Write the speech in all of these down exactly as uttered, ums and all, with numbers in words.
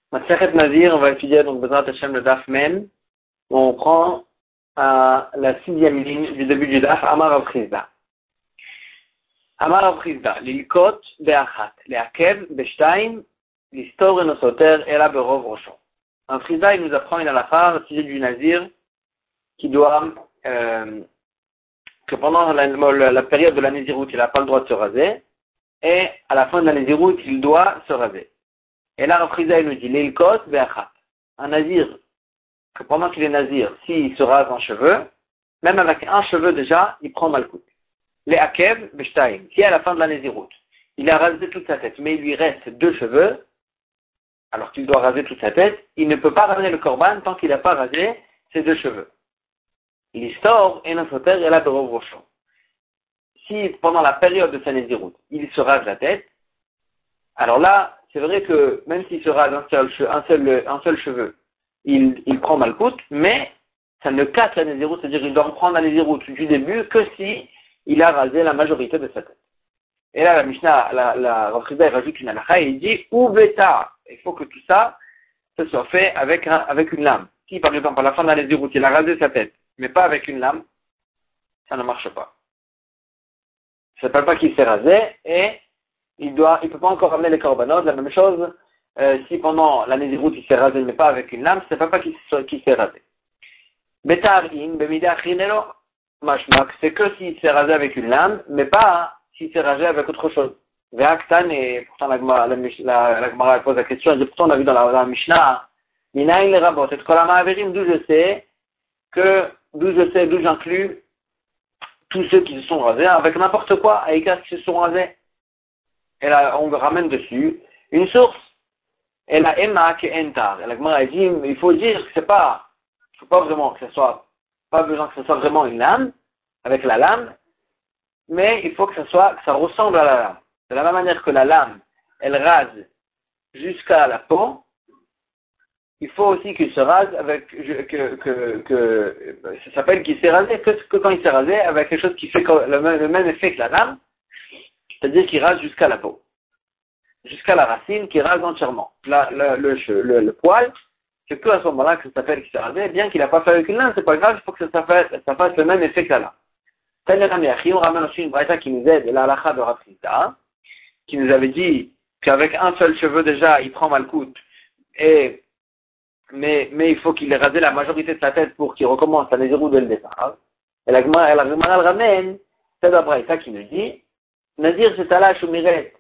Masechet Nazir, on va étudier donc Bezrat Hashem le Daf Men. On prend euh, la sixième ligne du début du Daf, Amar Rav Chizda. Amar Rav Chizda, l'ilkot be'achat, le'akev be'shtaim, l'histor enosoter ela berov roshon. Un Chizda, il nous apprend une halakha au sujet du Nazir qui doit, euh, que pendant la, la, la période de la Néziroute, il n'a pas le droit de se raser, et à la fin de la Néziroute, il doit se raser. Et là, Rav Chizda, il nous dit, l'ilkot be'achat. Un nazir, que pendant qu'il est nazir, s'il se rase en cheveux, même avec un cheveu déjà, il prend malkout. Les akev be'shtaim. Si à la fin de la naziroute, il a rasé toute sa tête, mais il lui reste deux cheveux, alors qu'il doit raser toute sa tête, il ne peut pas ramener le korban tant qu'il n'a pas rasé ses deux cheveux. L'histoire est nosoter et la berov roshon. Si pendant la période de sa naziroute, il se rase la tête, alors là, c'est vrai que même s'il se rase un seul, un seul, un seul cheveu, il, il prend malkout, mais ça ne casse la néziroute, c'est-à-dire qu'il doit reprendre la néziroute du début que si il a rasé la majorité de sa tête. Et là, la Mishnah, la, la Rav Chizda, rajoute une halakha et il dit ou bêta. Il faut que tout ça, ça soit fait avec, un, avec une lame. Si par exemple à la fin de la néziroute, il a rasé sa tête, mais pas avec une lame, ça ne marche pas. Ça ne s'appelle pas qu'il s'est rasé et il doit, il peut pas encore ramener les korbanot. La même chose, euh, si pendant la néziroute il s'est rasé mais pas avec une lame, ça ne s'appelle pas qu'il, qu'il s'est rasé. Betarin, bemida chinelo, mashmak, c'est que s'il s'est rasé avec une lame, mais pas s'il s'est rasé avec autre chose. Ve'aktan, et pourtant la Gemara, la, la, la Gemara pose la question, et pourtant on a vu dans la, dans la Mishnah, minayin le rabot, et kolama averim, d'où je sais que, d'où je sais, d'où j'inclus tous ceux qui se sont rasés avec n'importe quoi, avec qui se sont rasés. Et là, on ramène dessus une source. Et la Emma qui est entar. Et la Gemara dit, il faut dire que c'est pas, il faut pas vraiment que ce soit, pas besoin que ce soit vraiment une lame, avec la lame, mais il faut que ce soit, que ça ressemble à la lame. De la même manière que la lame, elle rase jusqu'à la peau, il faut aussi qu'il se rase avec, que, que, que, ça s'appelle qu'il s'est rasé, que, que quand il s'est rasé, avec quelque chose qui fait le même, le même effet que la lame, c'est-à-dire qu'il rase jusqu'à la peau, jusqu'à la racine, qu'il rase entièrement. La, le, le, le, le poil, c'est que à ce moment-là que ça s'appelle qu'il s'est rasé, bien qu'il n'a pas fait avec une lame, c'est pas grave, il faut que ça fasse, ça fasse le même effet que la lame. On ramène aussi une braïta qui nous aide, la halakha de Rav Chizda, qui nous avait dit qu'avec un seul cheveu déjà, il prend malkout, et mais, mais il faut qu'il ait rasé la majorité de sa tête pour qu'il recommence à néziroute dès le départ. Et la Gemara, elle ramène, c'est la braïta qui nous dit, Nazir shetala shumiret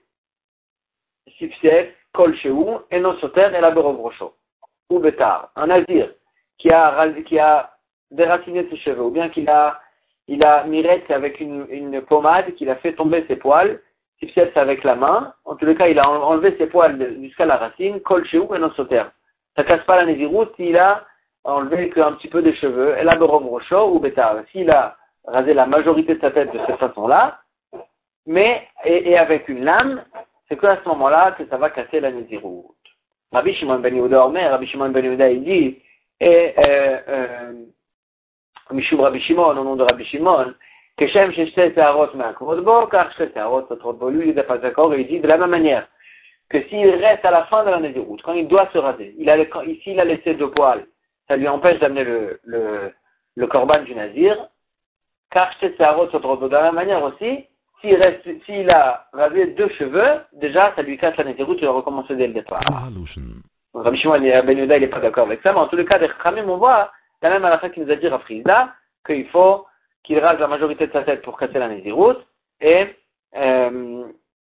sipsef kol sheu eno soter ela berov rosho ou betar. Un nazir qui a qui a déraciné ses cheveux ou bien qu'il a il a miret avec une, une pommade qu'il a fait tomber ses poils. Sipsef c'est avec la main. En tous les cas, il a enlevé ses poils jusqu'à la racine. Kol sheu eno soter. Ça casse pas la néziroute s'il a enlevé qu'un petit peu des cheveux. Ela berov rosho ou betar. S'il a rasé la majorité de sa tête de cette façon-là. Mais, et, et avec une lame, c'est qu'à ce moment-là que ça va casser la néziroute. Rabbi Shimon ben Yehuda Omer, Rabbi Shimon ben Yehuda, il dit, et, euh, euh, Mishum Rabbi Shimon, au nom de Rabbi Shimon, Keshem Sheshte Teharot Me'akrot Bo, car Sheshte Teharot Sotrot Bo, lui, il n'est pas d'accord, et il dit de la même manière, que s'il reste à la fin de la néziroute, quand il doit se raser, il a, quand, ici, il a laissé deux poils, ça lui empêche d'amener le, le, le korban du nazir, car Sheshte Teharot Sotrot Bo, de la même manière aussi, S'il, reste, s'il a rasé deux cheveux, déjà, ça lui casse la néziroute, il va recommencer dès le départ. Donc, Rabbi Shimon ben Yehuda, il n'est pas d'accord avec ça, mais en tous les cas, des Chachamim, on voit, la même halakha qui nous a dit Rav Chizda, qu'il faut qu'il rase la majorité de sa tête pour casser la néziroute, et, euh,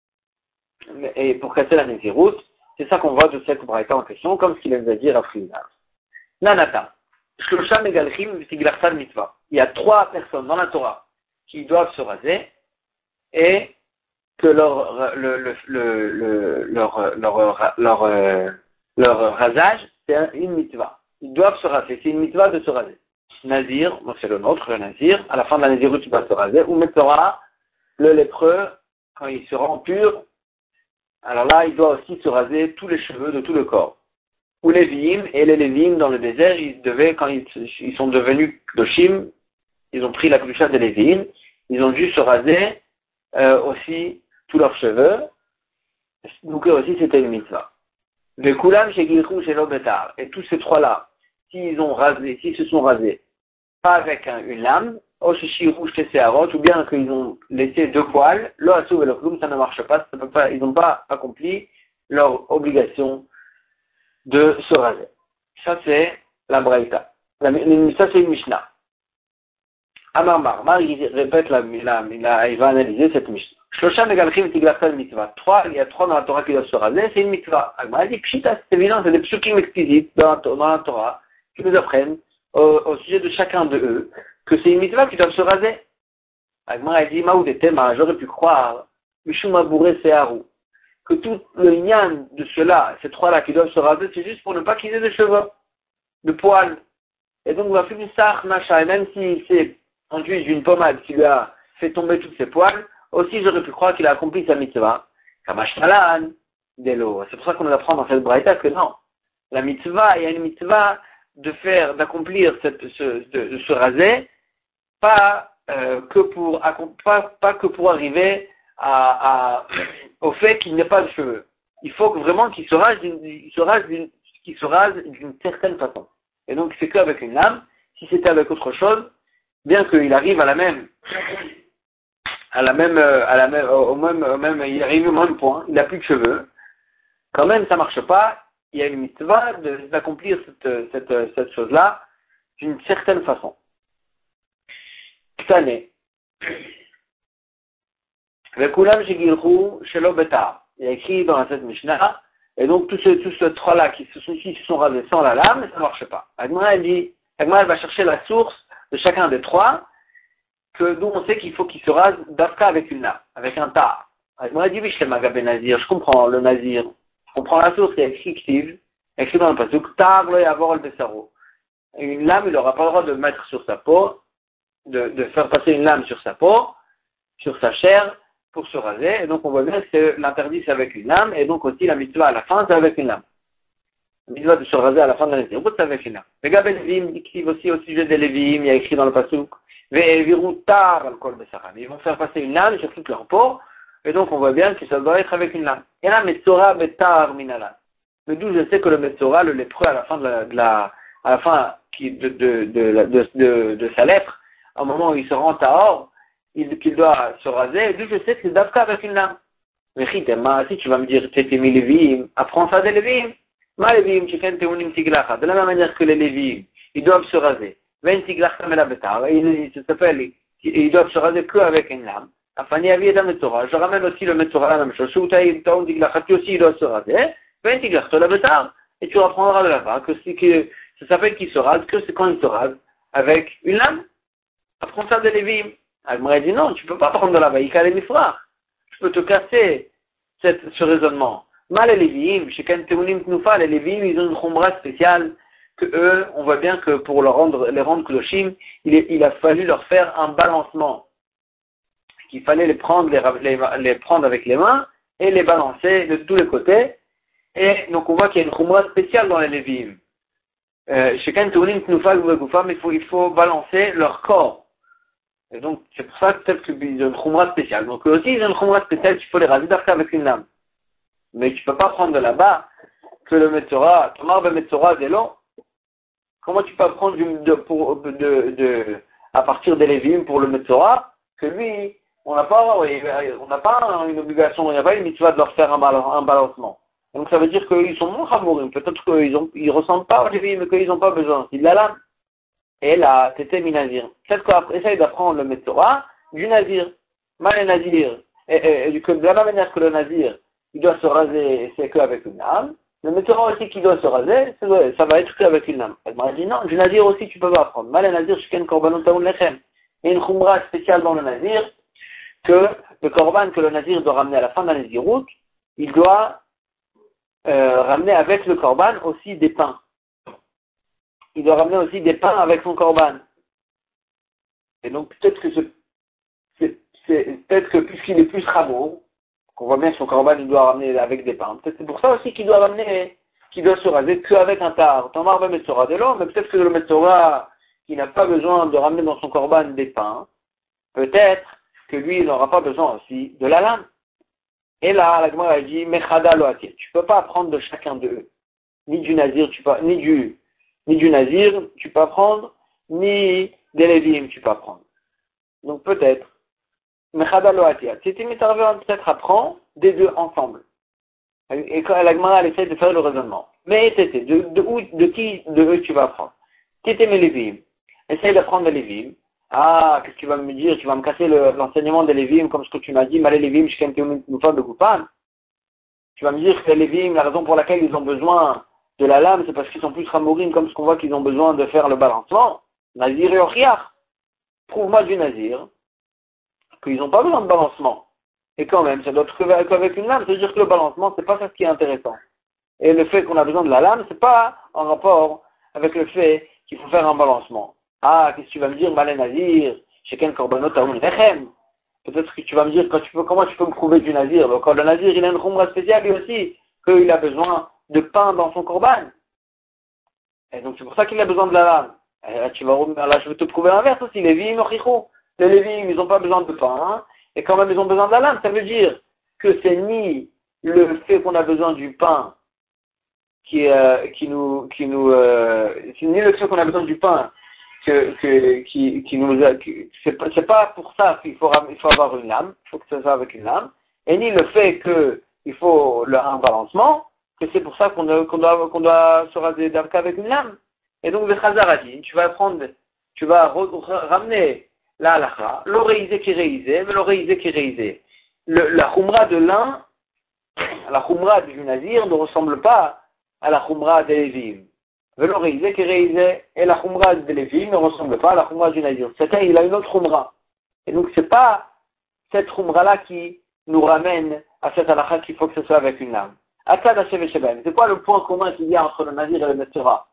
et pour casser la néziroute, c'est ça qu'on voit de cette braïta en question, comme ce qu'il nous a dit Rav Chizda. Nanata. Shlosha megalchim v'tiglarsan mitzvah. Il y a trois personnes dans la Torah qui doivent se raser, et que leur, le, le, le, le, leur, leur, leur, euh, leur rasage, c'est une mitzvah. Ils doivent se raser. C'est une mitzvah de se raser. Nazir, donc c'est le nôtre, le nazir. À la fin de la naziroute, tu dois se raser. Ou Metzora, le lépreux, quand il se rend pur, alors là, il doit aussi se raser tous les cheveux de tout le corps. Ou les Lévi'im, et les Lévi'im dans le désert, ils devaient, quand ils, ils sont devenus Doshim, ils ont pris la Kedusha des Lévi'im, ils ont dû se raser Euh, aussi tous leurs cheveux, donc aussi c'était une mitzvah. Le Koulam chez Gilchou chez Lobetar. Et tous ces trois-là, s'ils ont rasé, s'ils se sont rasés, pas avec un, une lame, ou bien qu'ils ont laissé deux poils, le Hassou et le Kloum, ça ne marche pas, ça peut pas, ils n'ont pas accompli leur obligation de se raser. Ça c'est la Braïta. La, ça c'est une Mishnah. Amar Marmar, il répète la, la, la, il va analyser cette Mishnah. Shlosha megalchim tiglachal mitzvah. Trois, il y a trois dans la Torah qui doivent se raser, c'est une mitzvah. Agmara dit, pshita, c'est évident, c'est des psukim explicites dans, dans la Torah qui nous apprennent au, au sujet de chacun de eux que c'est une mitzvah qui doivent se raser. Agmara dit, maoudetema, j'aurais pu croire, mishuma bourré seharu, que tout le nyan de ceux-là, ces trois-là qui doivent se raser, c'est juste pour ne pas qu'ils aient de cheveux, de poils. Et donc, on va faire une sach, machin, et même s'il s'est enduit d'une pommade qui lui a fait tomber tous ses poils, aussi j'aurais pu croire qu'il a accompli sa mitzvah. Kamash malan, delo. C'est pour ça qu'on nous apprend dans cette braïta que non. La mitzvah, il y a une mitzvah de faire, d'accomplir cette, ce, de, de se raser, pas, euh, que pour, pas, pas que pour arriver à, à, au fait qu'il n'ait pas de cheveux. Il faut que vraiment qu'il se rase d'une, il se rase d'une, qu'il se rase d'une certaine façon. Et donc, c'est qu'avec une lame. Si c'était avec autre chose, bien qu'il arrive à la même, à la même, à la même, au même, au même, il arrive au même point, il n'a plus de cheveux, quand même, ça marche pas. Il y a une mitzvah de, d'accomplir cette, cette, cette chose-là d'une certaine façon. Ktané. Le Koulam Shegilchou Shelo Betar. Il y a écrit dans cette Mishnah, et donc tous ces, tous ces trois-là qui se sont, qui se sont rasés sans la lame, ça ne marche pas. Agmara, elle dit, Agmara, elle va chercher la source de chacun des trois, que d'où on sait qu'il faut qu'il se rase d'Afka avec une lame, avec un tar. Agmara dit, oui, je suis Magabé Nazir, je comprends le Nazir, je comprends la source, il y a écrit Ktiv, écrit dans le pasuk, tar le yavor le besaro. Une lame, il n'aura pas le droit de mettre sur sa peau, de, de faire passer une lame sur sa peau, sur sa chair, pour se raser, et donc on voit bien que l'interdit c'est avec une lame, et donc aussi la mitzvah à la fin c'est avec une lame. La mitzvah de se raser à la fin de la Nézirut c'est avec une lame. Les gars Lévim écrivent aussi au sujet des Lévim, il y a écrit dans le pasuk, Ve'evirutar al-kol besaram. Ils vont faire passer une lame sur toute leur peau, et donc on voit bien que ça doit être avec une lame. Et là, Metzora betar minalan. Mais d'où je sais que le Metzora, le lépreux à la fin de la, de la à la fin de, de, de, de, de, de, de sa lèpre, au moment où il se rend à Or, il, qu'il doit se raser, d'où je sais que c'est d'Afka avec une lame. Mais si tu vas me dire, t'es mis Lévim, apprends ça des Lévim. Ma Lévim, tu fais un tiglacha. De la même manière que les Lévim, ils doivent se raser. Ven tiglacha me la betar. Il s'appelle, ils doivent se raser que avec une lame. Afani avi et Metzora. Je ramène aussi le Metzora à la même chose. Soutaï, taoun tiglacha, tu aussi, il doit se raser. Ven tiglacha la betar. Et tu apprendras de là-bas que c'est que, ça s'appelle qu'il se rase, que c'est quand il se rase avec une lame. Apprends ça des Lévim. Agmara dit non, tu ne peux pas prendre de la vaïka les mifrach. Je peux te casser cette, ce raisonnement. Mal les Lévim, chez Kenteunim Tnufa, les Lévim, ils ont une khombra spéciale que eux, on voit bien que pour leur rendre, les rendre kloshim, il, est, il a fallu leur faire un balancement. Qu'il fallait les prendre, les, les, les prendre avec les mains et les balancer de tous les côtés. Et donc on voit qu'il y a une khombra spéciale dans les Lévim. Euh, chez Kenteunim Tnufa, il faut, il faut balancer leur corps. Et donc, c'est pour ça que peut-être qu'ils ont une khumra spéciale. Donc, eux aussi, ils ont une khumra spéciale, tu peux les raser d'afka avec une lame. Mais tu peux pas prendre de là-bas que le Metzora, Tomar ben Metzora des longs. Comment tu peux prendre du, de, pour, de, de, à partir des Lévim pour le Metzora, que lui, on n'a pas, on n'a pas une obligation, il n'y a pas une mitzvah de leur faire un, un balancement. Donc, ça veut dire qu'ils sont moins chamourim. Peut-être qu'ils ont, ils ressentent pas aux Lévim, mais qu'ils n'ont pas besoin. Il a lame. Et là, t'étais mi-nazir. Peut-être qu'on essaye d'apprendre le Metzora du nazir. Mal le nazir. Et, et, et que de la même manière que le nazir, il doit se raser, c'est qu'avec une lame. Le Metzora aussi qui doit se raser, ça va être qu'avec une lame. Elle m'a dit non, du nazir aussi tu peux pas apprendre. Mal le nazir, shken korbanot taoun lechem. Il y a une khumra spéciale dans le nazir, que le korban que le nazir doit ramener à la fin de la nazirut, il doit euh, ramener avec le korban aussi des pains. Il doit ramener aussi des pains avec son korban. Et donc peut-être que c'est, c'est, c'est peut-être que puisqu'il est plus rameau, qu'on voit bien que son korban il doit ramener avec des pains. Peut-être c'est pour ça aussi qu'il doit ramener, qu'il doit se raser qu'avec un tar. Tamar va mettre de l'eau, mais peut-être que le Metzora, qui n'a pas besoin de ramener dans son korban des pains, peut-être que lui il n'aura pas besoin aussi de la lame. Et là, la Gemara a dit, Mechada lo atir. Tu peux pas apprendre de chacun d'eux. Ni du Nazir, tu peux, ni du, ni du Nazir, tu peux apprendre, ni des Lévim, tu peux apprendre. Donc peut-être, Mechada lo atir. C'était Mitarver, peut-être apprend des deux ensemble. Et quand la Gemara, elle essaie de faire le raisonnement. Mais Tété, de, de, où, de qui de eux tu vas apprendre? Tété mes Lévim. Essaye d'apprendre les Lévim. Ah, qu'est-ce que tu vas me dire? Tu vas me casser le, l'enseignement des Lévim, comme ce que tu m'as dit, Malé Lévim, je t'ai une fois de Goupan. Tu vas me dire que les Lévim, la raison pour laquelle ils ont besoin de la lame, c'est parce qu'ils sont plus ramourim, comme ce qu'on voit qu'ils ont besoin de faire le balancement. Nazir et Oriach. Prouve-moi du Nazir qu'ils n'ont pas besoin de balancement. Et quand même, ça doit être qu'avec une lame, c'est-à-dire que le balancement, c'est pas ça ce qui est intéressant. Et le fait qu'on a besoin de la lame, c'est pas en rapport avec le fait qu'il faut faire un balancement. Ah, qu'est-ce que tu vas me dire, Malé Nazir, chez quel korbanot taoun lechem? Peut-être que tu vas me dire, quand tu peux, comment tu peux me prouver du Nazir? Donc, le Nazir, il a une khumra spéciale, lui aussi, qu'il a besoin de pain dans son korban. Et donc, c'est pour ça qu'il a besoin de la lame. Et là, tu vas, là, je vais te prouver l'inverse aussi. Les Lévim, les Lévim, ils n'ont pas besoin de pain, hein, et quand même, ils ont besoin de la lame. Ça veut dire que c'est ni le fait qu'on a besoin du pain qui, euh, qui nous, qui nous, euh, c'est ni le fait qu'on a besoin du pain que, que, qui, qui nous, a, qui, c'est pas, c'est pas pour ça qu'il faut, il faut avoir une lame, il faut que ça soit avec une lame, et ni le fait que il faut le, un balancement, que c'est pour ça qu'on, qu'on doit, qu'on doit se raser d'arc avec une lame. Et donc, le Chazar a dit, tu vas prendre, tu vas ramener la halakha, l'oreisé qui est réisé, mais l'oreisé qui est réisé. Le, la khumra de l'un, la khumra du Nazir ne ressemble pas à la khumra des Lévim. L'oreisé qui est réisé et la khumra des Lévim ne ressemble pas à la khumra du Nazir. Chacun, il a une autre khumra. Et donc, c'est pas cette khumra-là qui nous ramène à cette halakha qu'il faut que ce soit avec une lame. Atad Hashem et Shebem. C'est quoi le point commun qu'il y a entre le Nazir et le Metzora?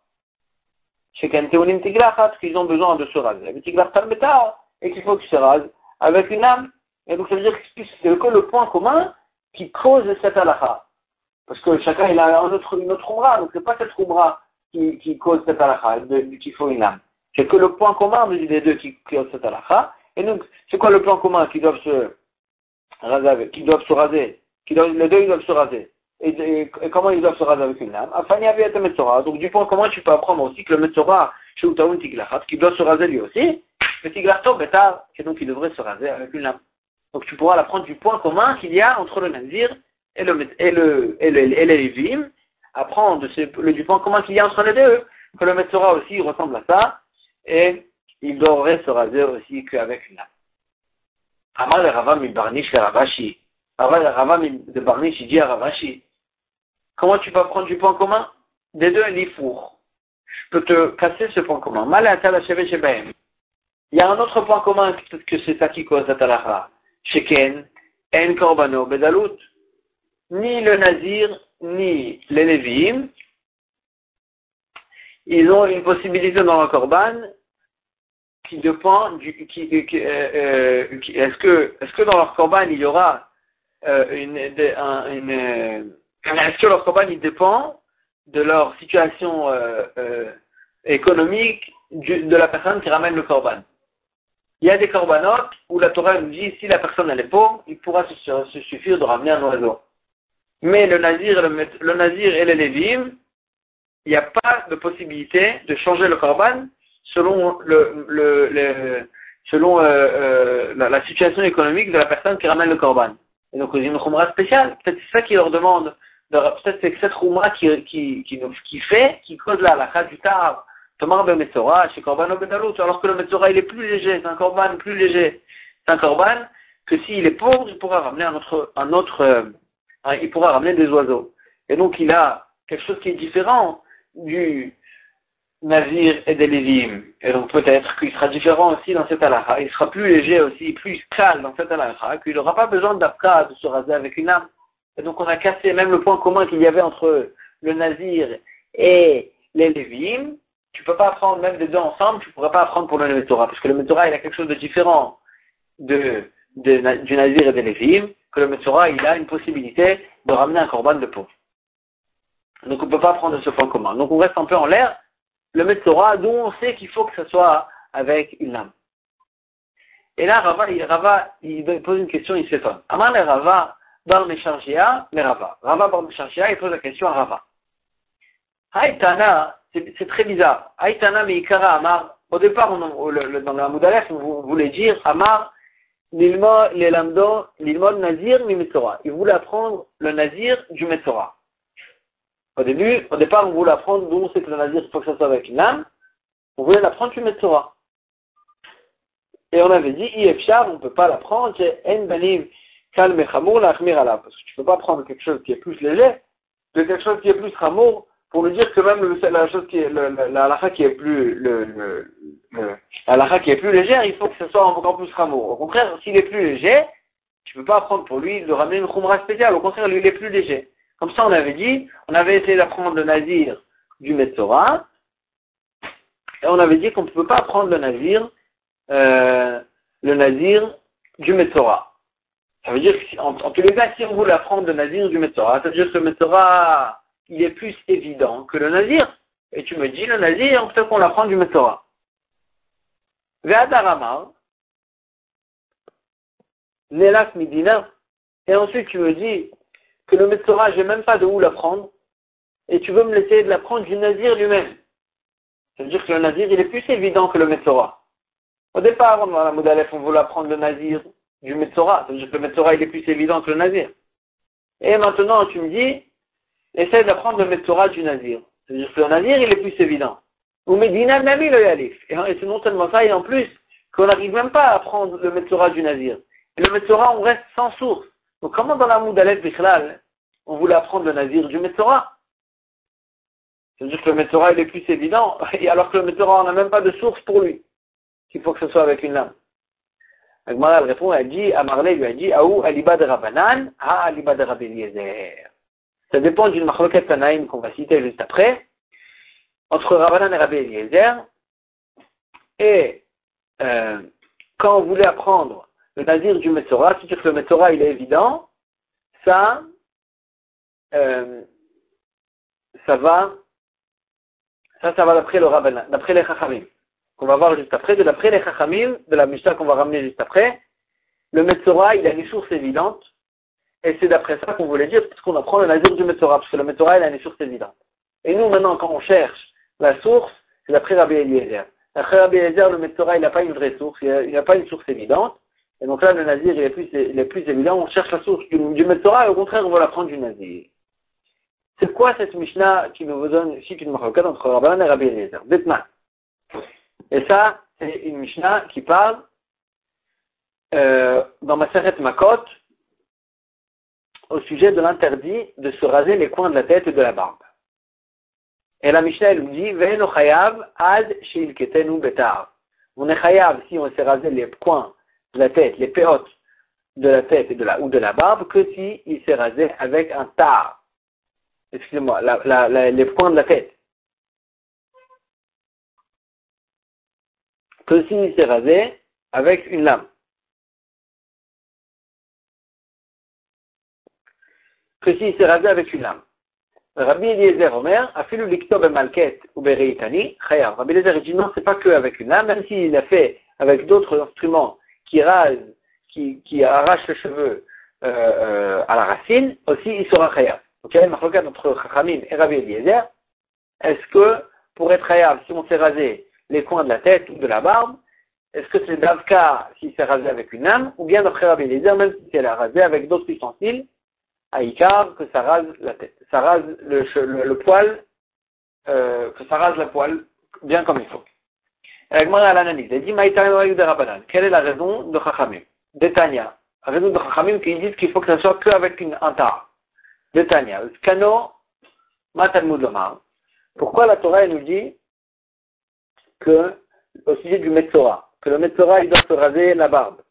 Chez Kenteunim Tiglachat, qu'ils ont besoin de se raser. Le Tiglach Talbeta, et qu'il faut qu'ils se rasent avec une lame. Et donc, ça veut dire que c'est que le point commun qui cause cette halakha. Parce que chacun, il a un autre, une autre umra, donc c'est pas cette umra qui, qui cause cette halakha, qu'il faut une lame. C'est que le point commun des deux qui cause cette halakha. Et donc, c'est quoi le point commun qui doivent se raser, qui doivent se raser, qui doivent, les deux, ils doivent se raser. Et, et, et comment ils doivent se raser avec une lame? Afin, il y avait un Metzora. Donc, du point commun, tu peux apprendre aussi que le Metzora, chez Utaoun Tiglachat, qui doit se raser lui aussi, le Tiglachto Beta, et donc il devrait se raser avec une lame. Donc, tu pourras l'apprendre du point commun qu'il y a entre le Nazir et le, et le, et le, et les Lévim, apprendre de ce, le, du point commun qu'il y a entre les deux, que le Metzora aussi il ressemble à ça, et il devrait se raser aussi qu'avec une lame. Amar le Rava mi Barnish le Ravashi. Rava le Rava de Barnish, il dit à Ravashi, comment tu peux prendre du point commun? Des deux, l'Ifour. Je peux te casser ce point commun. Mal à Tala Sheve Shebaim. Il y a un autre point commun, peut-être que c'est ça qui cause la Talacha. Sheken, En Korbano, Bedalut. Ni le Nazir, ni les Lévim, ils ont une possibilité dans le Korban qui dépend du, qui, qui, euh, euh, qui est-ce que, est-ce que dans leur Korban il y aura euh, une, de, un, une, euh, est-ce que leur Korban il dépend de leur situation euh, euh, économique du, de la personne qui ramène le Korban. Il y a des Korbanot où la Torah nous dit si la personne elle est pauvre, il pourra se, se suffire de ramener un oiseau. Mais le Nazir, le, le Nazir et les Lévim, il n'y a pas de possibilité de changer le Korban selon le, le, le selon euh, euh, la, la situation économique de la personne qui ramène le Korban. Et donc, il y a une khumra spéciale. Peut-être c'est ça qui leur demande. De, peut-être c'est cette khumra qui, qui, qui, qui fait, qui cause la halakha du tar. Tomar be Metzora, chez Korban Bedalut. Alors que le Metzora, il est plus léger. C'est un Korban plus léger. C'est un Korban que s'il est pauvre, il pourra ramener un autre, un autre, euh, hein, il pourra ramener des oiseaux. Et donc, il a quelque chose qui est différent du Nazir et des Lévim. Et donc, peut-être qu'il sera différent aussi dans cette halakha. Il sera plus léger aussi, plus calme dans cette halakha, qu'il n'aura pas besoin d'Afka de se raser avec une lame. Et donc, on a cassé même le point commun qu'il y avait entre le Nazir et les Lévim. Tu peux pas apprendre même les deux ensemble, tu pourrais pas apprendre pour le Metzora, parce que le Metzora, il a quelque chose de différent de, de, du Nazir et des Lévim, que le Metzora, il a une possibilité de ramener un korban de pauvre. Donc, on ne peut pas prendre ce point commun. Donc, on reste un peu en l'air. Le Metzora, d'où on sait qu'il faut que ce soit avec une lame. Et là, Rava, il, Rava, il pose une question, il s'étonne. Amar le Rava, bar Mesharshia, mais Rava. Rava bar Mesharshia, il pose la question à Rava. Haïtana, c'est, c'est très bizarre. Haïtana Meikara Amar, au départ, on, le, le, dans la Moudalef, on voulait dire Amar, l'ilmo, l'elamdo, l'ilmo Nazir, mi Metzora. Il voulait apprendre le Nazir du Metzora. Au début, au départ, on voulait apprendre d'où c'est que le Nazir, il faut que ça soit avec une lame. On voulait l'apprendre du Metzora. Et on avait dit, Ifshar, on ne peut pas l'apprendre, c'est En Banim, Kalme Chamour, la Khmir Allah. Parce que tu ne peux pas prendre quelque chose qui est plus léger, de quelque chose qui est plus Chamour, pour nous dire que même le, la chose qui est, le, la halakha qui est plus, le, le, le, la halakha qui est plus légère, il faut que ce soit encore plus Chamour. Au contraire, s'il est plus léger, tu ne peux pas apprendre pour lui de ramener une Khumra spéciale. Au contraire, lui, il est plus léger. Comme ça, on avait dit, on avait essayé d'apprendre le Nazir du Metzora, et on avait dit qu'on ne peut pas apprendre le Nazir, Euh, le Nazir du Metzora. Ça veut dire qu'en en tous les cas, si on voulait apprendre le Nazir du Metzora, ça veut dire que le Metzora, il est plus évident que le Nazir. Et tu me dis, le Nazir, on peut qu'on l'apprend du Metzora. Ve'adaramar, Nelak Midina, et ensuite tu me dis que le Metzora, j'ai même pas de où l'apprendre, et tu veux me laisser de l'apprendre du Nazir lui-même. Ça veut dire que le Nazir, il est plus évident que le Metzora. Au départ, dans la Moudalef, on voulait apprendre le Nazir du Metzora. Ça veut dire que le Metzora, il est plus évident que le Nazir. Et maintenant, tu me dis, essaie d'apprendre le Metzora du Nazir. Ça veut dire que le Nazir, il est plus évident. Ou Medina Nami le Yalif. Et c'est non seulement ça, et en plus, qu'on n'arrive même pas à apprendre le Metzora du Nazir. Et le Metzora, on reste sans source. Donc comment dans la Moudalef Bichlal, on voulait apprendre le Nazir du Metzora? Ça veut dire que le Metzora, il est plus évident, et alors que le Metzora, on n'a même pas de source pour lui. Qu'il faut que ce soit avec une lame. Agmara, elle répond, elle dit, Amarle lui a dit, Aou aliba de Rabanan, Ha aliba de Rabbi Eliezer. Ça dépend d'une machloket Tanaïm qu'on va citer juste après, entre Rabanan et Rabbi Eliezer. Et euh, quand on voulait apprendre le Nazir du Metzora, c'est-à-dire que le Metzora il est évident, ça, euh, ça va, ça, ça va d'après le Rabanan, d'après les Chachamim. Qu'on va voir juste après, de d'après les Chachamim, de la Mishnah qu'on va ramener juste après, le Metzora, il a une source évidente, et c'est d'après ça qu'on voulait dire, parce qu'on apprend le Nazir du Metzora, parce que le Metzora, il a une source évidente. Et nous, maintenant, quand on cherche la source, c'est d'après Rabbi Eliezer. D'après Rabbi Eliezer, le Metzora, il n'a pas une vraie source, il n'a pas une source évidente, et donc là, le Nazir, il est plus, il est plus évident, on cherche la source du, du Metzora, et au contraire, on va l'apprendre du Nazir. C'est quoi cette Mishnah qui nous donne ici une marquette entre Rabbanan et Rabbi Eliezer? Dites-moi. Et ça, c'est une Mishnah qui parle euh, dans Maseret Makot au sujet de l'interdit de se raser les coins de la tête et de la barbe. Et la Mishnah, elle nous dit, Ve'eno chayav ad sheilketenu betar. On est chayav si on s'est rasé les coins de la tête, les péotes de la tête et de la, ou de la barbe, que si il s'est rasé avec un tar. Excusez-moi, la, la, la, les coins de la tête. Que s'il s'est rasé avec une lame. Que s'il s'est rasé avec une lame. Rabbi Eliezer Omer, afilu liktob malket ou bereitani, chayav. Rabbi Eliezer dit non, c'est pas que avec une lame, même s'il l'a fait avec d'autres instruments qui rasent, qui, qui arrachent les cheveux euh, euh, à la racine, aussi il sera chayav. Donc il y a une marloquette entre Chachamim et Rabbi Eliezer. Est-ce que pour être chayav, si on s'est rasé les coins de la tête ou de la barbe, est-ce que c'est d'Avka s'il s'est rasé avec une lame, ou bien d'après Rabbi Eliezer, même si elle a rasé avec d'autres ustensiles, à Ikar, que ça rase la tête, ça rase le, le, le poil, euh, que ça rase la poil bien comme il faut. Et Gemara à l'analyse, elle dit Maïtaï de Rabbanan. Quelle est la raison de Chachamim? D'Etania. La raison de Chachamim qui disent qu'il faut que ça soit qu'avec une un tar. D'Etania. Skano Matalmud Lomar. Pourquoi la Torah elle nous dit que, au sujet du Metzora, que le Metzora il doit se raser la barbe?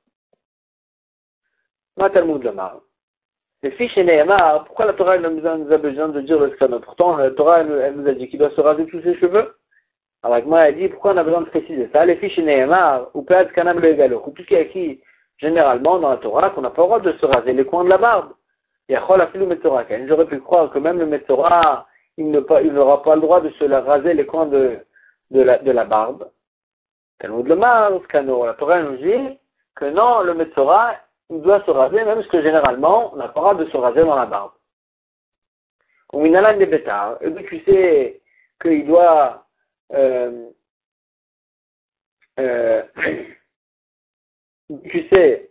Matalmud Lomar. Les fiches et Nehemar, pourquoi la Torah elle nous a besoin de dire le Skano? Pourtant, la Torah elle, elle nous a dit qu'il doit se raser tous ses cheveux. Alors, moi, elle dit, pourquoi on a besoin de préciser ça? Les fiches et Nehemar, ou Pead Kanam le Egalo, ou puisqu'il y a écrit généralement dans la Torah qu'on n'a pas le droit de se raser les coins de la barbe. Yachol Afilu Metzora. J'aurais pu croire que même le Metzora, il n'aura pas le droit de se raser les coins de, de, la, de la barbe. Talmud Lomar, Skano. La Torah nous dit que non, le Metzora, il doit se raser, même parce que généralement, on n'a pas le droit de se raser dans la barbe. Ou minalan de bétar, et donc tu sais qu'il doit, euh, euh, tu sais,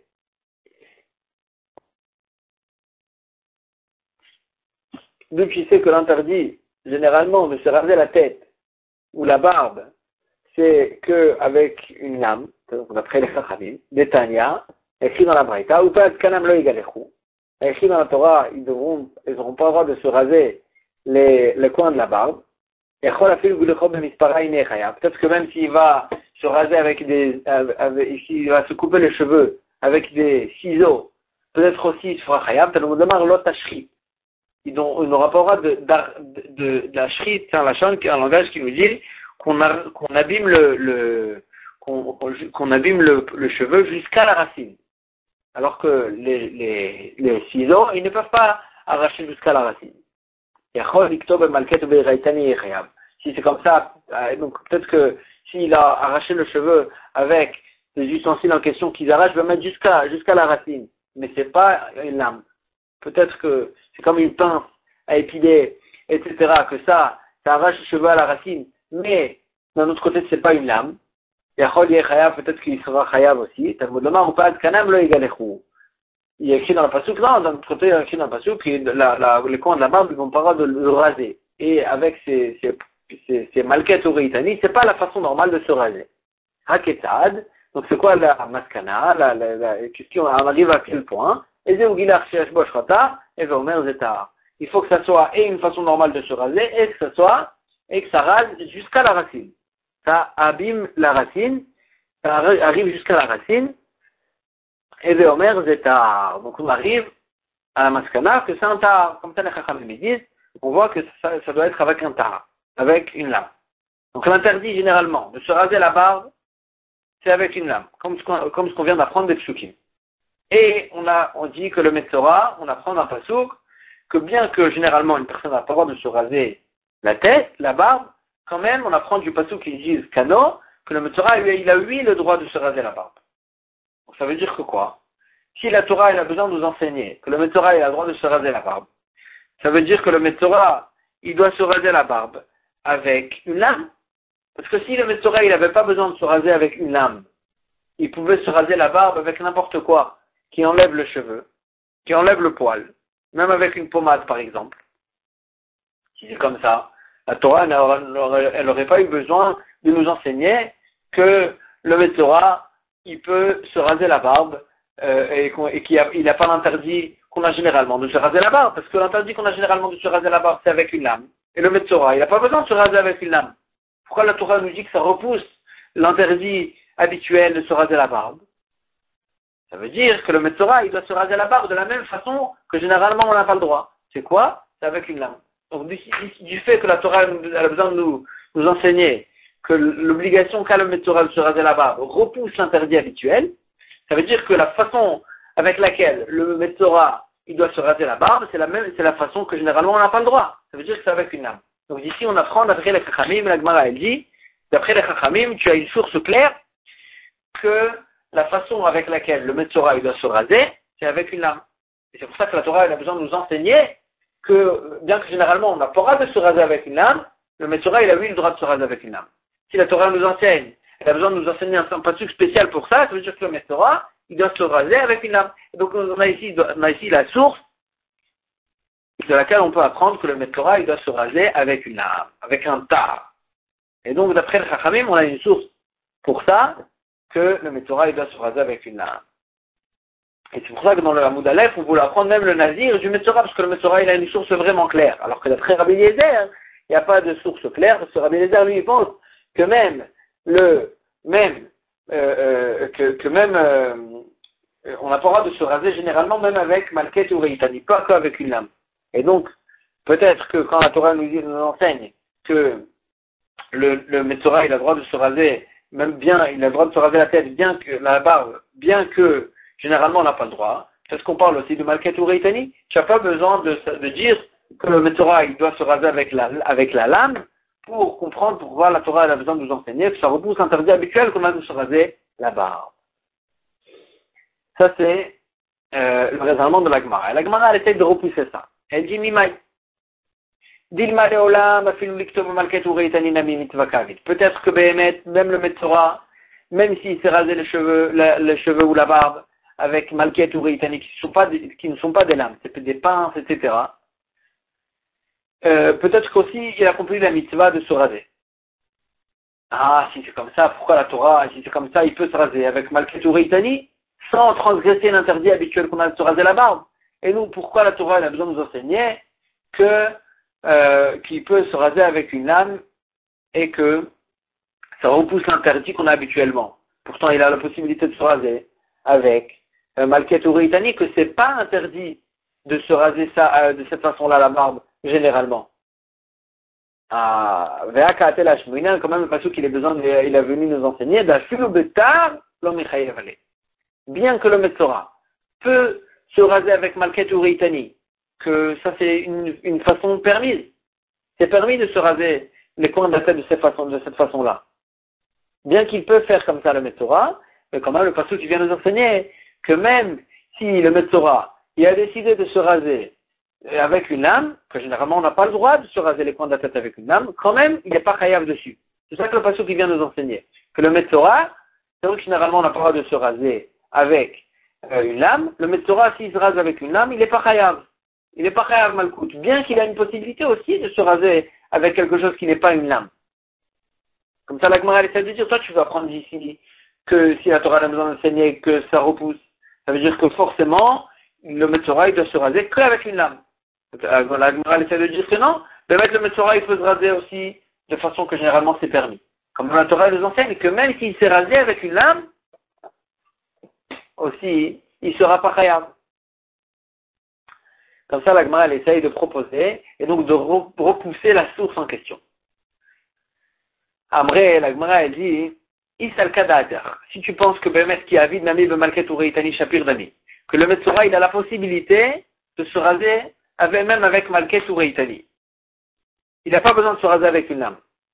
d'où tu sais que l'interdit, généralement, de se raser la tête ou la barbe, c'est qu'avec une lame, d'après les Chachamim, des Tanya, écrit dans la Braïta, ou pas Kanam lo yigalechu, écrit dans la Torah, ils devront, ils n'auront pas le droit de se raser les, les coins de la barbe. Et peut-être que même s'il va se raser avec des, avec, s'il va se couper les cheveux avec des ciseaux, peut-être aussi il sera chayab, il n'aura pas le droit de, de, de, de la shrit, c'est un langage qui nous dit qu'on, a, qu'on abîme le, le qu'on, qu'on abîme le, le cheveu jusqu'à la racine. Alors que les, les, les ciseaux, ils ne peuvent pas arracher jusqu'à la racine. Si c'est comme ça, donc peut-être que s'il a arraché le cheveu avec des ustensiles en question qu'ils arrachent, je vais mettre jusqu'à, jusqu'à la racine. Mais c'est pas une lame. Peut-être que c'est comme une pince à épiler, et cetera, que ça, ça arrache le cheveu à la racine, mais d'un autre côté, c'est pas une lame. Peut-être qu'il sera chayav aussi. Il y a écrit dans la pasouk, non, d'un autre côté, il y a écrit dans la pasouk que la, la, les coins de la barbe, ils vont pas de le raser. Et avec ces, ces, ces, ces malquettes ou réitani, c'est pas la façon normale de se raser. Haketad, donc c'est quoi la maskana, la, la, la question, on arrive à quel point? Et il faut que ça soit et une façon normale de se raser, et que ça soit, et que ça rase jusqu'à la racine. Ça abîme la racine, ça arrive jusqu'à la racine, et Veomer Zetar. Donc on arrive à la maskana que c'est un tar, comme ça les chachamim disent, on voit que ça, ça doit être avec un tar, avec une lame. Donc l'interdit généralement de se raser la barbe, c'est avec une lame, comme ce qu'on, comme ce qu'on vient d'apprendre des psukim. Et on a, on dit que le Metzora, on apprend dans Pasouk, que bien que généralement une personne n'a pas le droit de se raser la tête, la barbe, quand même on apprend du Pasouk qui dit Kano, que le Metzora, il a lui le droit de se raser la barbe. Donc ça veut dire que quoi? Si la Torah, elle a besoin de nous enseigner que le Metzora, il a le droit de se raser la barbe, ça veut dire que le Metzora, il doit se raser la barbe avec une lame. Parce que si le Metzora, il n'avait pas besoin de se raser avec une lame, il pouvait se raser la barbe avec n'importe quoi qui enlève le cheveu, qui enlève le poil, même avec une pommade par exemple. Si c'est comme ça, la Torah, elle n'aurait pas eu besoin de nous enseigner que le Metzora, il peut se raser la barbe euh, et, et qu'il n'a pas l'interdit qu'on a généralement de se raser la barbe, parce que l'interdit qu'on a généralement de se raser la barbe, c'est avec une lame. Et le Metzora, il n'a pas besoin de se raser avec une lame. Pourquoi la Torah nous dit que ça repousse l'interdit habituel de se raser la barbe? Ça veut dire que le Metzora, il doit se raser la barbe de la même façon que généralement on n'a pas le droit. C'est quoi? C'est avec une lame. Donc du, du fait que la Torah elle a besoin de nous, nous enseigner que l'obligation qu'a le Metzora de se raser la barbe repousse l'interdit habituel, ça veut dire que la façon avec laquelle le Metzora il doit se raser la barbe, c'est la même, c'est la façon que généralement on n'a pas le droit. Ça veut dire que c'est avec une lame. Donc d'ici on apprend d'après les Chachamim, la Gemara elle dit, d'après les Chachamim, tu as une source claire que la façon avec laquelle le Metzora il doit se raser, c'est avec une lame. Et c'est pour ça que la Torah elle a besoin de nous enseigner que, bien que généralement on n'a pas le droit de se raser avec une lame, le Metzora il a eu le droit de se raser avec une lame. Si la Torah nous enseigne, elle a besoin de nous enseigner un pasuk spécial pour ça, ça veut dire que le Metzora il doit se raser avec une lame. Et donc on a ici, on a ici la source de laquelle on peut apprendre que le Metzora il doit se raser avec une lame, avec un tar. Et donc d'après le Chachamim, on a une source pour ça, que le Metzora il doit se raser avec une lame. Et c'est pour ça que dans le Hamoud Aleph, on voulait apprendre même le Nazir du Metzora, parce que le Metzora il a une source vraiment claire. Alors que d'après Rabbi Eliezer, il n'y a pas de source claire, parce que Rabbi Eliezer lui il pense que même le même euh, euh, que, que même euh, on n'a pas le droit de se raser généralement même avec Malket ou Reitani, pas qu'avec une lame. Et donc peut-être que quand la Torah nous dit, nous enseigne que le, le Metzora il a le droit de se raser, même bien, il a le droit de se raser la tête, bien que la barbe, bien que généralement on n'a pas le droit. Parce qu'on parle aussi de Malket ou Reitani, tu n'as pas besoin de, de dire que le Metzora il doit se raser avec la, avec la lame pour comprendre pourquoi la Torah elle a besoin de nous enseigner que ça repousse l'interdit habituel qu'on a de se raser la barbe. Ça c'est euh, le raisonnement de la Gemara. La Gemara, elle essaie de repousser ça. Elle dit Mimai. Dilma leolam afilu liktob malket ureitani nami mitzvah kavit. Peut-être que Behemet, même le Metzora, même s'il s'est rasé les cheveux, la, les cheveux ou la barbe avec malket ureitani qui, qui ne sont pas des lames, c'est des pinces, et cetera. Euh, peut-être qu'aussi il a compris la mitzvah de se raser. Ah, si c'est comme ça, pourquoi la Torah, si c'est comme ça, il peut se raser avec malket ureitani sans transgresser l'interdit habituel qu'on a de se raser la barbe. Et nous, pourquoi la Torah elle a besoin de nous enseigner que euh, qu'il peut se raser avec une lame et que ça repousse l'interdit qu'on a habituellement. Pourtant, il a la possibilité de se raser avec euh, malket ureitani, que c'est pas interdit de se raser ça euh, de cette façon-là la barbe généralement. Ah, Ve'aka atel hashmoina, quand même le passage qu'il est besoin, de, il a venu nous enseigner d'afilu betar lo mechayev ale. Bien que le Metzora peut se raser avec malket ureitani, que ça c'est une, une façon permise. C'est permis de se raser les coins de la tête de cette façon, de cette façon-là. Bien qu'il peut faire comme ça le Metzora, mais quand même le passage qui vient nous enseigner que même si le Metzora il a décidé de se raser avec une lame, que généralement on n'a pas le droit de se raser les coins de la tête avec une lame, quand même il n'est pas chayav dessus. C'est ça que le passage qui vient nous enseigner. Que le Metzora, c'est vrai que généralement on n'a pas le droit de se raser avec euh, une lame, le Metzora s'il se rase avec une lame, il n'est pas chayav. Il n'est pas chayav malkout. Bien qu'il a une possibilité aussi de se raser avec quelque chose qui n'est pas une lame. Comme ça la Gemara essaie de dire, toi tu vas apprendre d'ici que si la Torah a besoin d'enseigner que ça repousse, ça veut dire que forcément le Metzora il doit se raser qu'avec une lame. La Gemara essaie de dire que non, de mettre le Metzora il peut se raser aussi de façon que généralement c'est permis. Comme la Torah nous enseigne que même s'il s'est rasé avec une lame, aussi il ne sera pas chayav. Comme ça la Gemara elle essaye de proposer et donc de repousser la source en question. Après, la Gemara elle dit Isal Kadater. Si tu penses que Bemet qui a vide Nami Bemalket Ureitani Shapir Dami, que le Metzora il a la possibilité de se raser avec, même avec Malket Ureitani. Il n'a pas besoin de se raser avec une lame.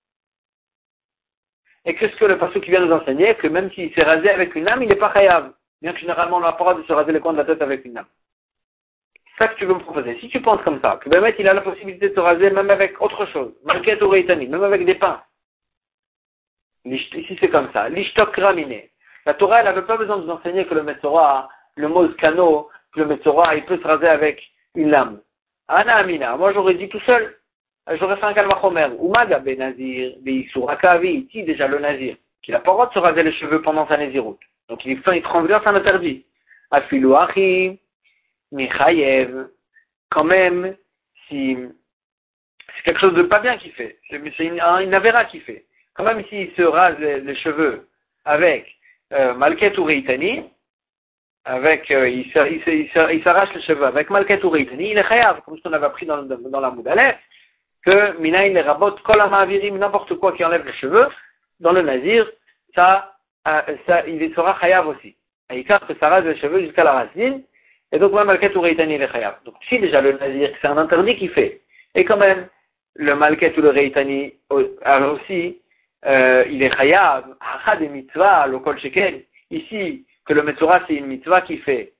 Et qu'est-ce que le passage qui vient nous enseigner? Que même s'il s'est rasé avec une lame, il n'est pas chayav. Bien que généralement on n'a pas le droit de se raser les coins de la tête avec une lame. C'est ça que tu veux me proposer. Si tu penses comme ça, que Bemet il a la possibilité de se raser même avec autre chose, Malket Ureitani, même avec des pinces. Ici c'est comme ça. L'ishtok ramine. La Torah elle n'avait pas besoin de nous enseigner que le Metzora, le mot skano, que le Metzora il peut se raser avec une lame. Ana Amina, moi j'aurais dit tout seul, j'aurais fait un kalvachomer. Umaga ben Nazir, Beisur, Akavi, ici déjà le Nazir, qu'il n'a pas le droit de se raser les cheveux pendant sa Naziroute. Donc il fait, il transgresse un interdit. Afilu Achi, Michayev, quand même, si c'est quelque chose de pas bien qu'il fait, c'est, c'est une, une avéra qu'il fait. Quand même s'il se rase les, les cheveux avec euh, Malket Ureitani, avec euh, il, il, il, il s'arrache les cheveux avec Malket Ureitani, il est chayav, comme ce qu'on avait appris dans, dans la Moudalef, que Minaï les rabot kol ha'ma'avirim, n'importe quoi qui enlève les cheveux, dans le Nazir, ça, euh, ça il sera chayav aussi. Et il que ça rase les cheveux jusqu'à la racine, et donc même Malket Ureitani il est chayav. Donc si déjà le Nazir, c'est un interdit qu'il fait, et quand même le Malket Ureitani aussi, Euh, il est chayav, hacha des mitzvahs, le kol sheken. Ici, que le Metzora c'est une mitzvah qui fait,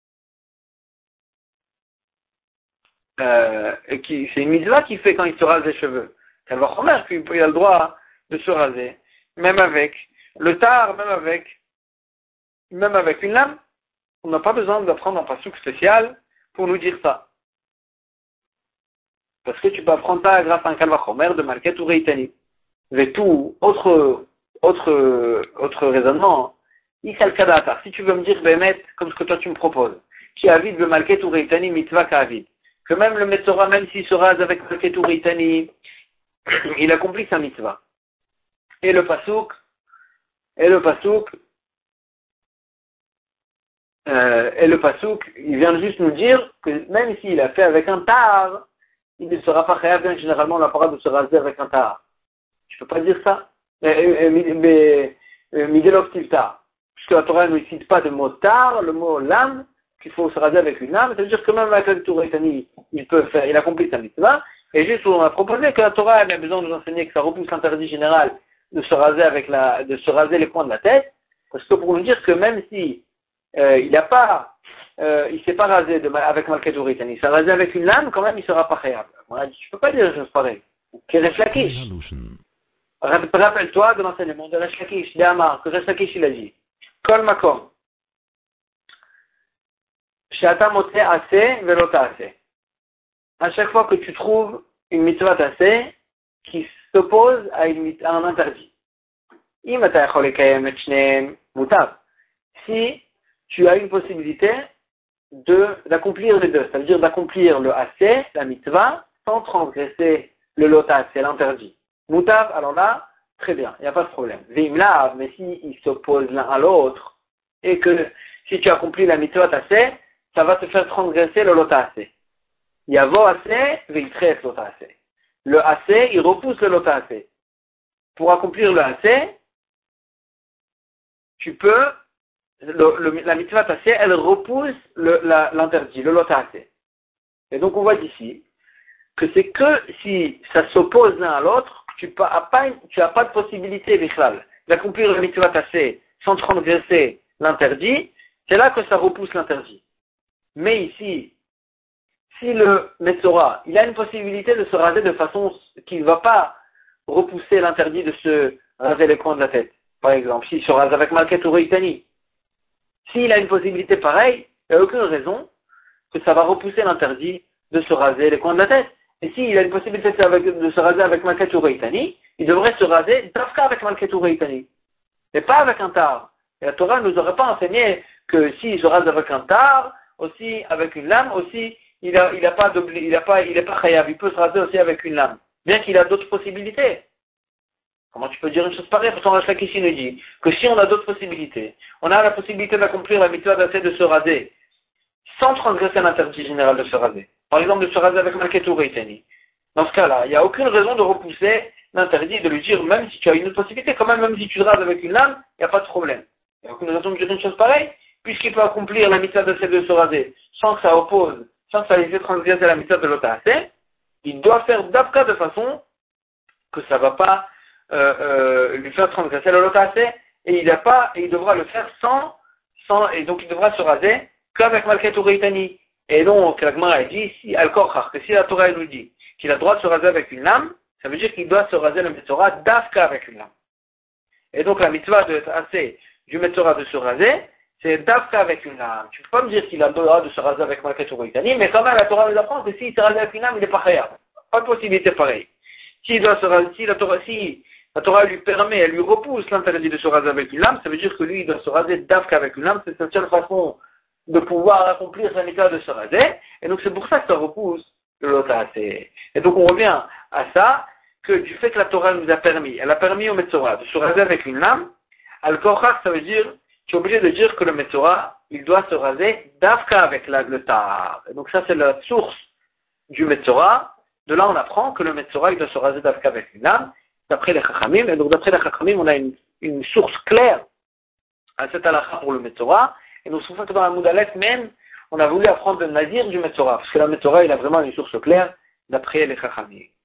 euh, qui, c'est une mitzvah qui fait quand il se rase les cheveux. Elle va remettre qu'il a le droit de se raser, même avec le tar, même avec, même avec une lame. On n'a pas besoin d'apprendre un passouk spécial pour nous dire ça. Parce que tu peux apprendre ça grâce à un kalvachomer de Malket Ureitani. Mais tout, autre, autre, autre raisonnement, Isal Kadatar, si tu veux me dire, Bemet, comme ce que toi tu me proposes, qui avide le Malket Ureitani mitzvah ka'avid, que même le Metzora, même s'il se rase avec Malket Ureitani, il accomplit sa mitzvah. Et le Pasouk, et le Pasouk, euh, et le Pasouk, il vient juste nous dire que même s'il a fait avec un tar, il ne sera pas chayav, bien que généralement on n'a pas le droit de se raser avec un tar. Je peux pas dire ça. Mais Midelov Tivtar. Puisque la Torah ne cite pas de mot tar, le mot lame, qu'il faut se raser avec une lame. Ça veut dire que même avec le Touretani, il peut faire, il accomplit sa mitzvah. Et juste, on a proposé que la Torah a besoin de nous enseigner que ça repousse l'interdit général de se raser avec la, de se raser les coins de la tête. Parce que pour nous dire que même si, euh, il n'a pas euh, il s'est pas rasé de, avec Malket Uritani, il s'est rasé avec une lame, quand même, il sera pas khayab. On a dit, tu peux pas dire des choses pareilles. Keresh Lakish. Rappelle-toi de l'enseignement de Resh Lakish, d'Amar, que Resh Lakish il a dit. Kol Makom. Shata Mote Ase, Velota Ase. À chaque fois que tu trouves une mitzvah Ase qui s'oppose à, une, à un interdit. Si tu as une possibilité de, d'accomplir les deux, ça veut dire d'accomplir le Ase, la mitzvah, sans transgresser le Lota, c'est l'interdit. Moutav, alors là, très bien, il n'y a pas de problème. Vimlav, mais si ils s'opposent l'un à l'autre, et que si tu accomplis la mitzvah Ase, ça va te faire transgresser le Lota Ase. Yavo Ase, Viltret Lota Ase. Le Ase, il repousse le Lota Ase. Pour accomplir le Ase, tu peux, le, le, la mitzvah Ase, elle repousse le, la, l'interdit, le Lota Ase. Et donc on voit d'ici que c'est que si ça s'oppose l'un à l'autre, tu n'as pas, tu as pas de possibilité, Bichlal, d'accomplir la mitzvah Ase sans transgresser l'interdit, c'est là que ça repousse l'interdit. Mais ici, si le Metzora, il a une possibilité de se raser de façon qu'il ne va pas repousser l'interdit de se raser les coins de la tête. Par exemple, s'il se rase avec Malket ou Reitani. S'il a une possibilité pareille, il n'y a aucune raison que ça va repousser l'interdit de se raser les coins de la tête. Et s'il a une possibilité de, avec, de se raser avec Malket ou Reitani, il devrait se raser d'Afka avec Malket ou Reitani. Et pas avec un tar. Et la Torah ne nous aurait pas enseigné que s'il se rase avec un tar, aussi avec une lame, aussi, il a, il a pas il a pas, il est pas chayav, il peut se raser aussi avec une lame. Bien qu'il a d'autres possibilités. Comment tu peux dire une chose pareille? Pourtant, Resh Lakish nous dit que si on a d'autres possibilités, on a la possibilité d'accomplir la mitzvah d'Aseh de se raser, sans transgresser l'interdit général de se raser. Par exemple, de se raser avec Malket ou Reitani. Dans ce cas-là, il n'y a aucune raison de repousser l'interdit, de lui dire, même si tu as une autre possibilité, quand même, même si tu te rases avec une lame, il n'y a pas de problème. Il n'y a aucune raison de dire une chose pareille, puisqu'il peut accomplir la mitzvah d'Aseh de se raser, sans que ça oppose, sans que ça lui fait transgresser la mitzvah de l'autre Aseh, il doit faire d'abka de façon que ça ne va pas euh, euh, lui faire transgresser le l'autre Aseh, et il a pas, et il devra le faire sans, sans, et donc il devra se raser qu'avec Malket ou Reitani. Et donc, la Gemara dit, si, Al-Korchach, que si la Torah nous dit qu'il a le droit de se raser avec une lame, ça veut dire qu'il doit se raser le Metzora d'Afka avec une lame. Et donc, la mitzvah de assez du Metzora de se raser, c'est d'Afka avec une lame. Tu ne peux pas me dire qu'il a le droit de se raser avec Malket ou Reitani, mais quand même, la Torah nous apprend que s'il se rase avec une lame, il n'est pas khayab. Pas de possibilité pareille. S'il doit se raser, si la Torah, si la Torah lui permet, elle lui repousse l'interdit de se raser avec une lame, ça veut dire que lui, il doit se raser d'Afka avec une lame, c'est sa seule façon de pouvoir accomplir sa mitzvah de se raser, et donc c'est pour ça que ça repousse le Lota Aseh. Et donc on revient à ça, que du fait que la Torah nous a permis, elle a permis au Metzora de se raser avec une lame, Al-Korchach, ça veut dire, tu es obligé de dire que le Metzora, il doit se raser d'Afka avec la, le Tar. Et donc ça c'est la source du Metzora. De là on apprend que le Metzora, il doit se raser d'Afka avec une lame, d'après les Chachamim, et donc d'après les Chachamim, on a une, une source claire à cette halakha pour le Metzora. Et donc, c'est pour ça que dans la Moudalef même, on a voulu apprendre le Nazir du Metzora, parce que la Metzora, il a vraiment une source claire d'après les Chachamim.